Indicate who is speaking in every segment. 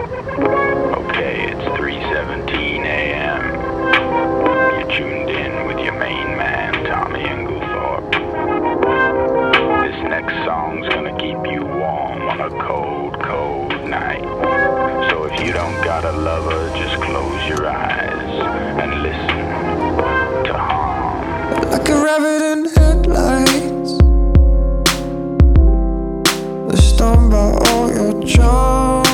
Speaker 1: Okay, it's 3:17 a.m. You're tuned in with your main man, Tommy Englethorpe. This next song's gonna keep you warm on a cold, cold night. So if you don't got a lover, just close your eyes and listen to Harm.
Speaker 2: Like a rabbit in headlights, we're stoned by all your charm.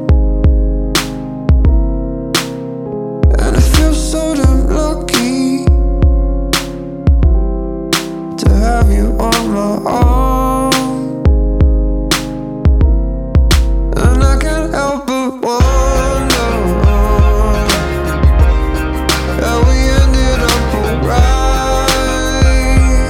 Speaker 2: And I feel so damn lucky to have you on my arm. And I can't help but wonder how we ended up alright.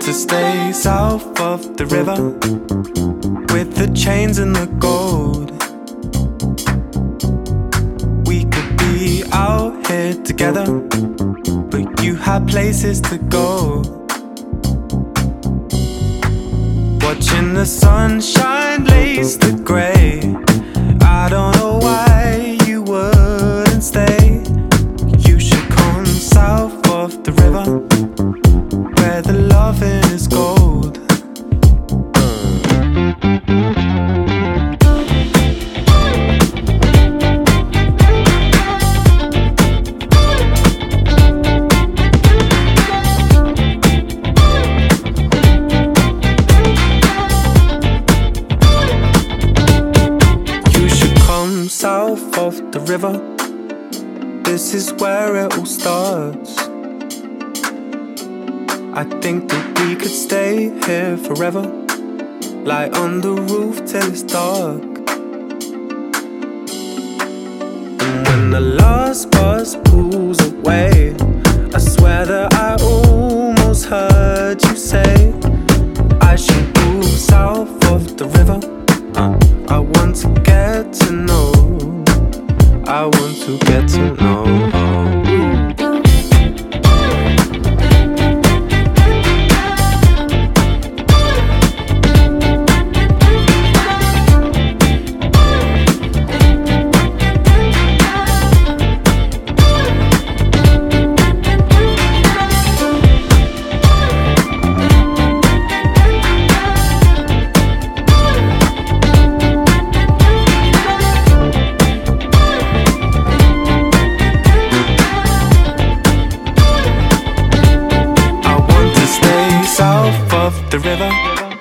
Speaker 2: to stay south of the river with the chains and the gold. We could be out here together, but you had places to go. Watching the sunshine lace the grey. I don't know why you wouldn't stay. You should come south of the river where the loving is gold. South of the river, this is where it all starts. I think that we could stay here forever, lie on the roof till it's dark. And when the last bus pulls away, I swear that I almost heard you say I should move south of the river. I want to get to know, I want to get to know. The river.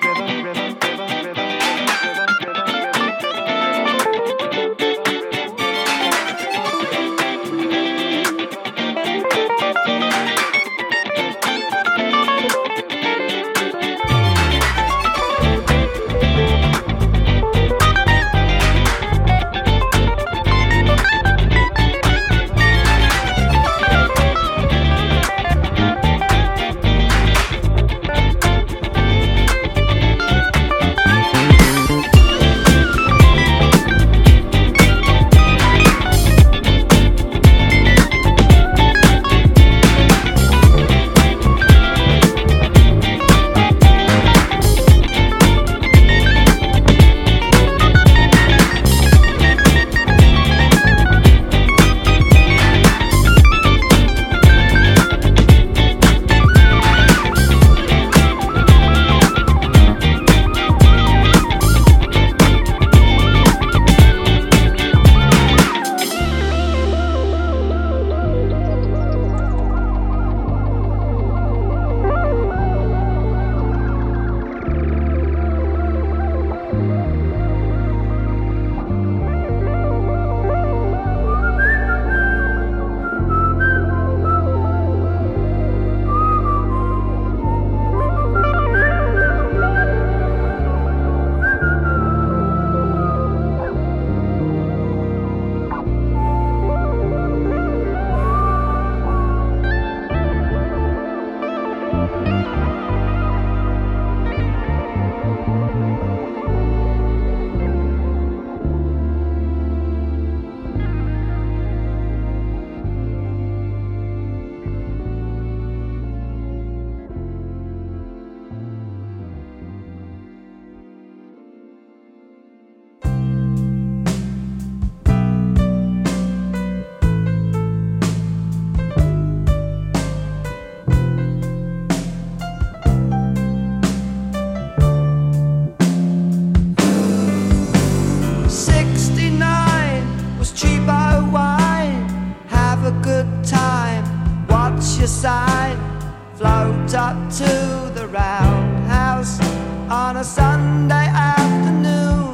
Speaker 3: Float up to the roundhouse on a Sunday afternoon.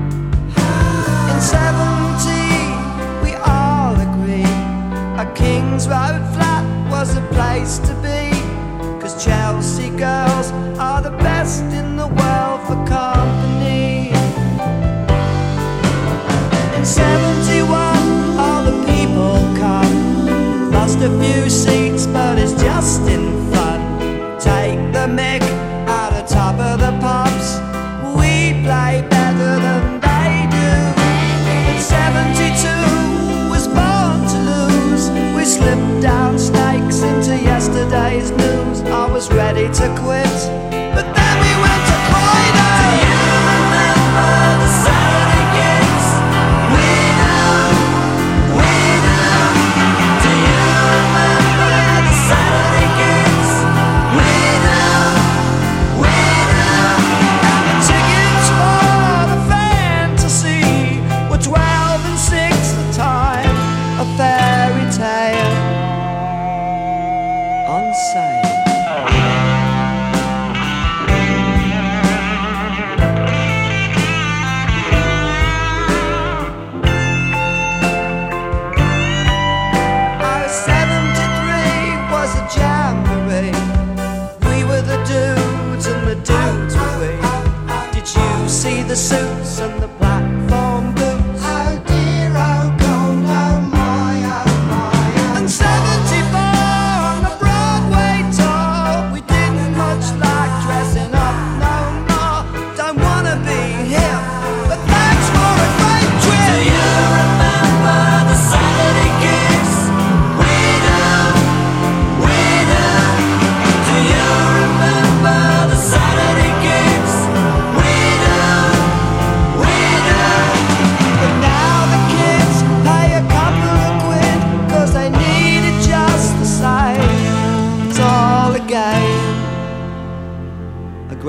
Speaker 3: In 70 we all agree a King's Road flat was a place to be, 'cause Chelsea girls are the best in the world for company. In 71 all the people come, lost a few seats but it's just in fun. Take the mick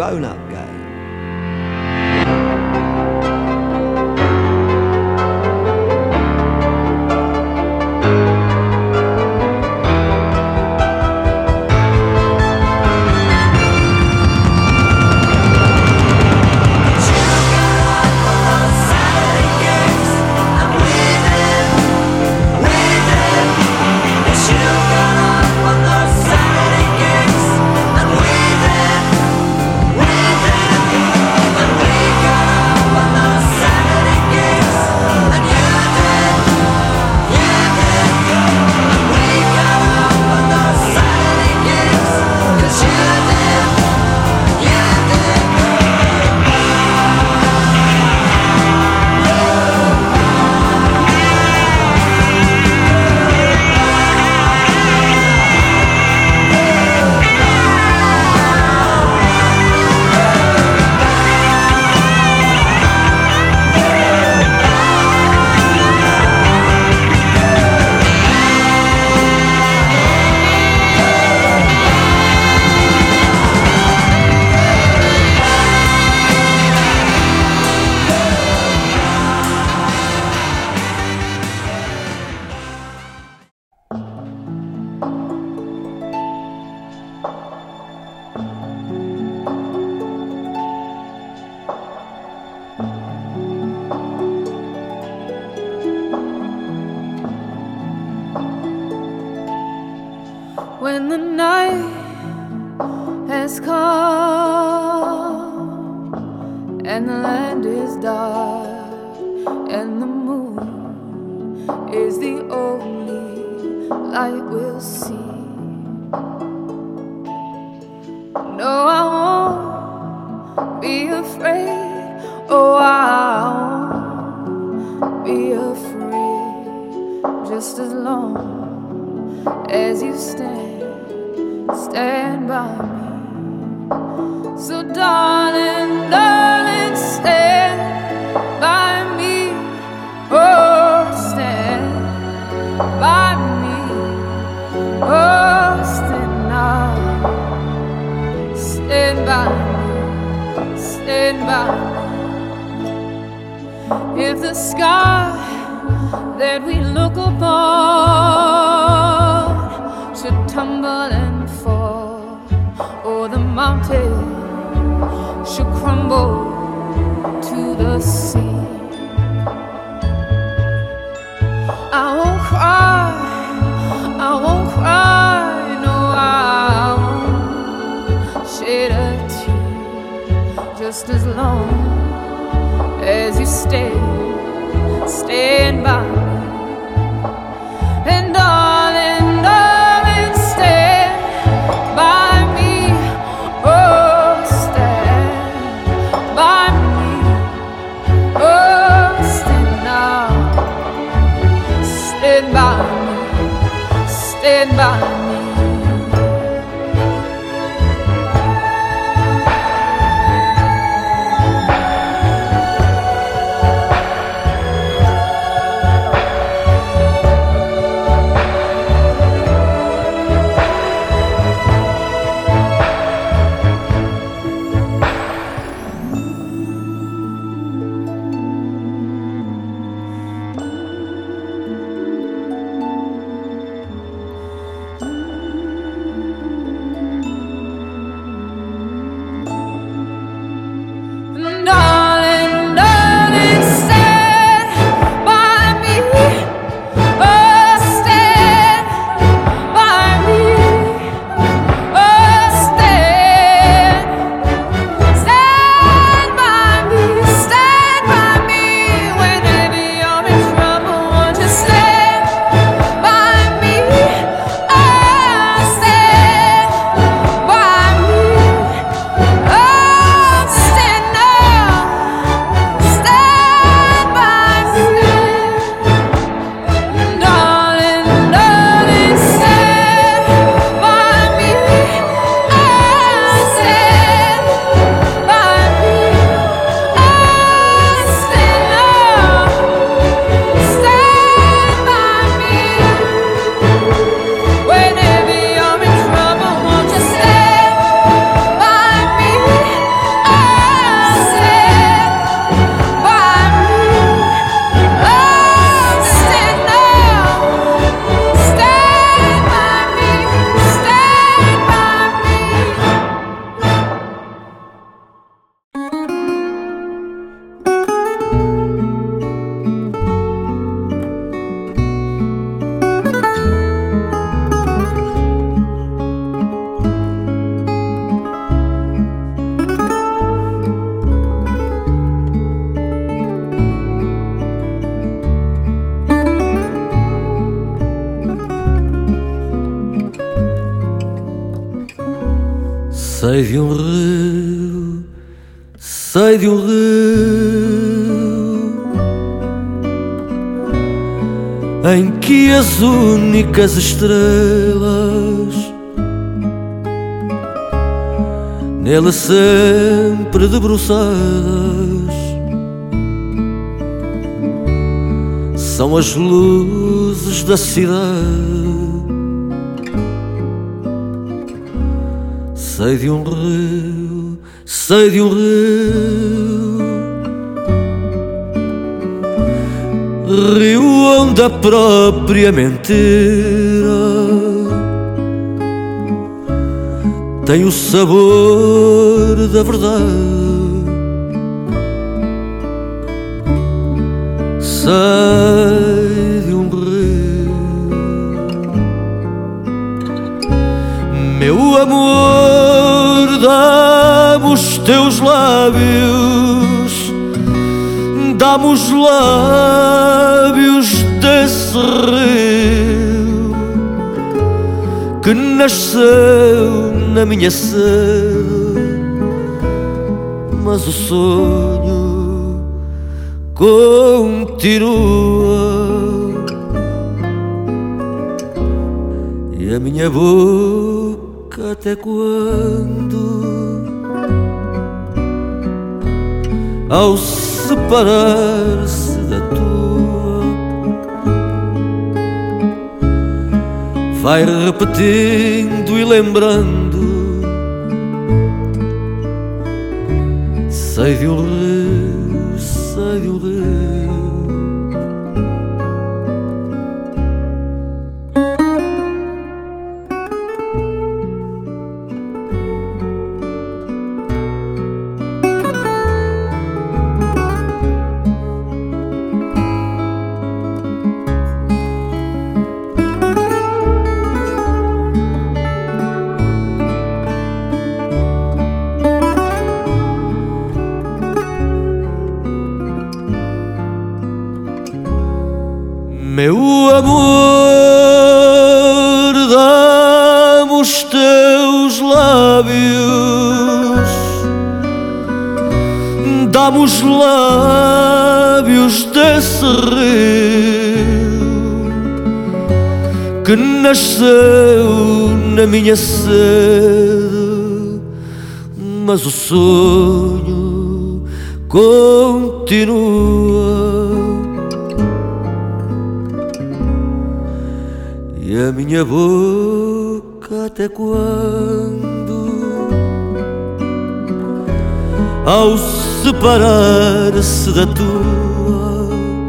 Speaker 3: grown-up game.
Speaker 4: When the night has come and the land is dark and the moon is the only light we'll see. No, I won't be afraid. Oh, I won't be afraid. Just as long as you stand by me. So darling, darling, stand by me. Oh, stand by me. Oh, stand now. Stand by me. Stand by me. If the sky that we look upon should tumble and fall, or the mountain should crumble to the sea, I won't cry, I won't cry, no, I won't shed a tear. Just as long as you stand by me. And darling, darling, stand by me. Oh, stand by me. Oh, stand now. Stand by me. Stand by me. Mm-hmm.
Speaker 5: Sei de um rio, sei de um rio em que as únicas estrelas nele sempre debruçadas são as luzes da cidade. Sei de um rio, sei de um rio onde a própria mentira tem o sabor da verdade. Sei de um rio, meu amor, dá-me os teus lábios, dá-me os lábios desse rio que nasceu na minha sede, mas o sonho continua e a minha boca até quando, ao separar-se da tua, vai repetindo e lembrando. Sei de um rio, sei de um rio. Meu amor, dá-me os teus lábios, dá-me os lábios desse rio que nasceu na minha sede, mas o sonho continua e a minha boca até quando, ao separar-se da tua,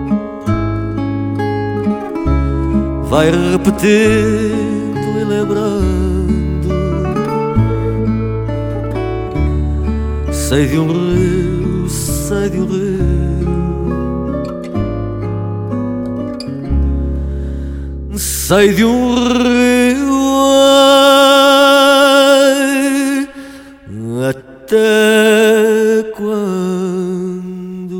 Speaker 5: vai repetindo e lembrando. Sei de um rio, sei de um rio. Sei de um rio, ai, até quando.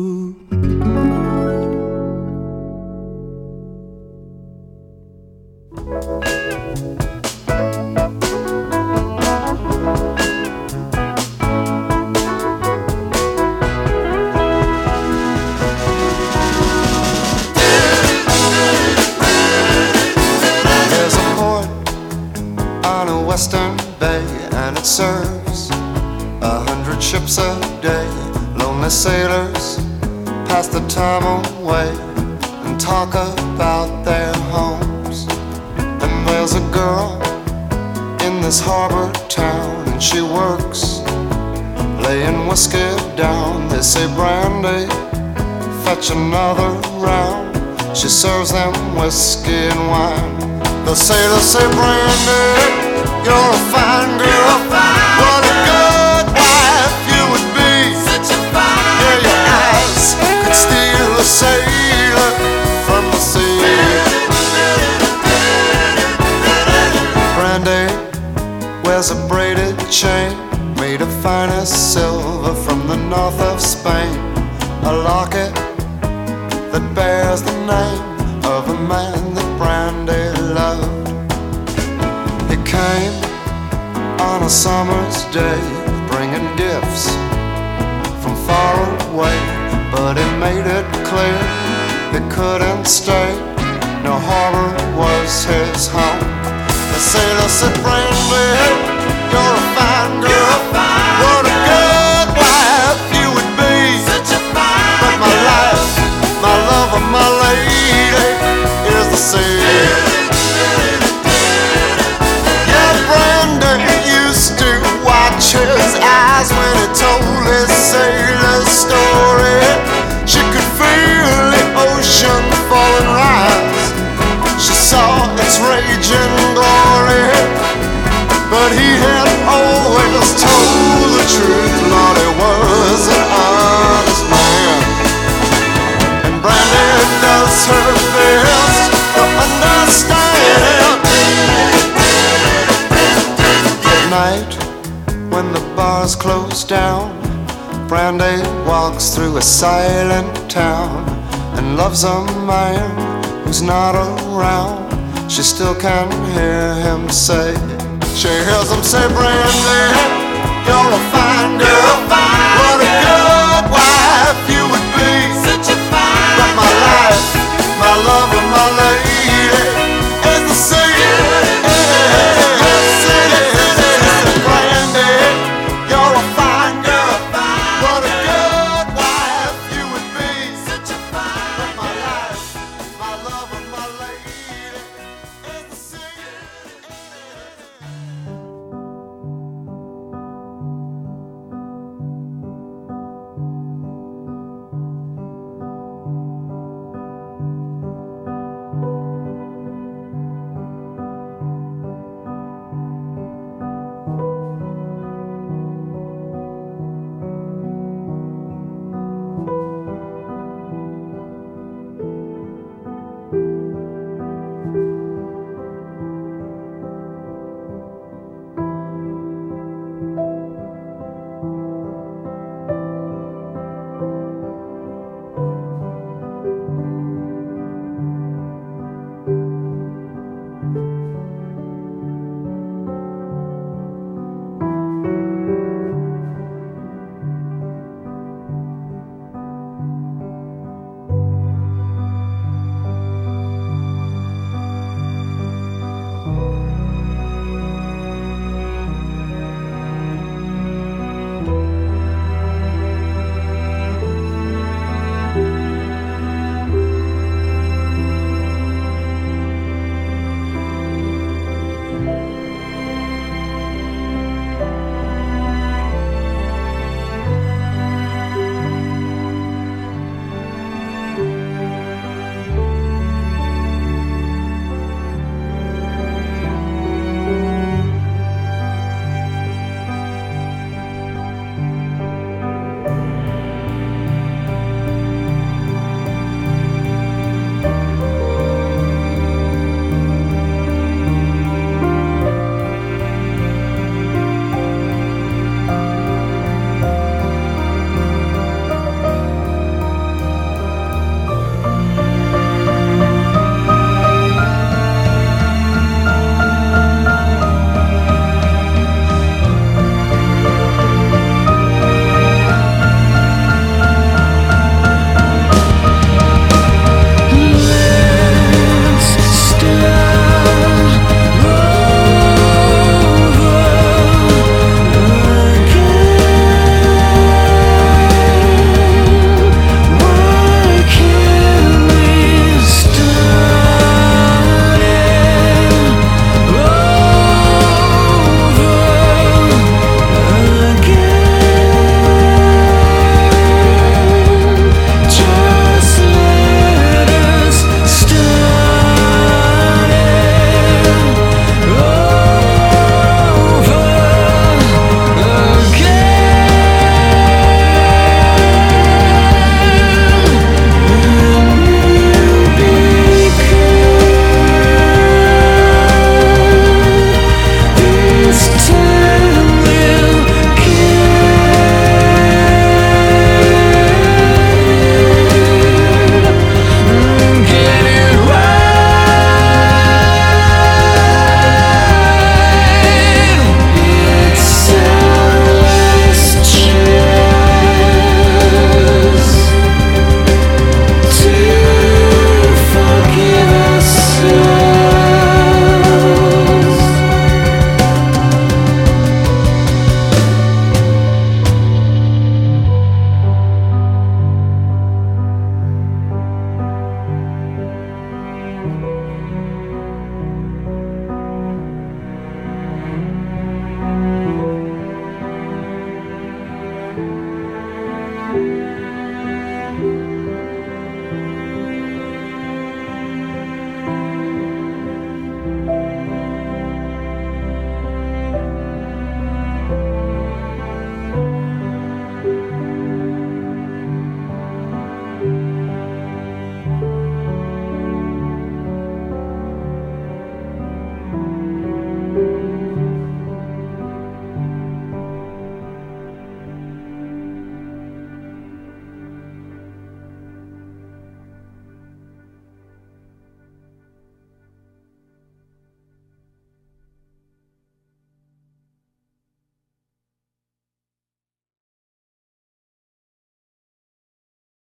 Speaker 6: Western Bay, and it serves 100 ships a day. Lonely sailors pass the time away and talk about their homes. And there's a girl in this harbor town, and she works laying whiskey down. They say, Brandy, fetch another round. She serves them whiskey and wine. The sailors say, Brandy, you're a fine girl, what a good wife you would be. Such a fine girl. Your eyes could steal a sailor from the sea. Brandy wears a braided chain made of finest silver from the north of Spain. A locket that bears the name of a man that Brandy loved. He came on a summer's day, bringing gifts from far away. But he made it clear he couldn't stay. No, harbor was his home. The sailor said, Brandy, you're a fine girl. What a good wife you would be. But my life, my love, and my lady is the sea. Yeah, Brandy used to watch his eyes when he told his sailor story. She could feel the ocean fall and rise. She saw its raging glory. But he had always told the truth. Lord, he was an honest man. And Brandy does her best to understand. At night, when the bars close down, Brandy walks through a silent town and loves a man who's not around. She still can hear him say, she hears him say, Brandy, you're a fine girl. What a girl.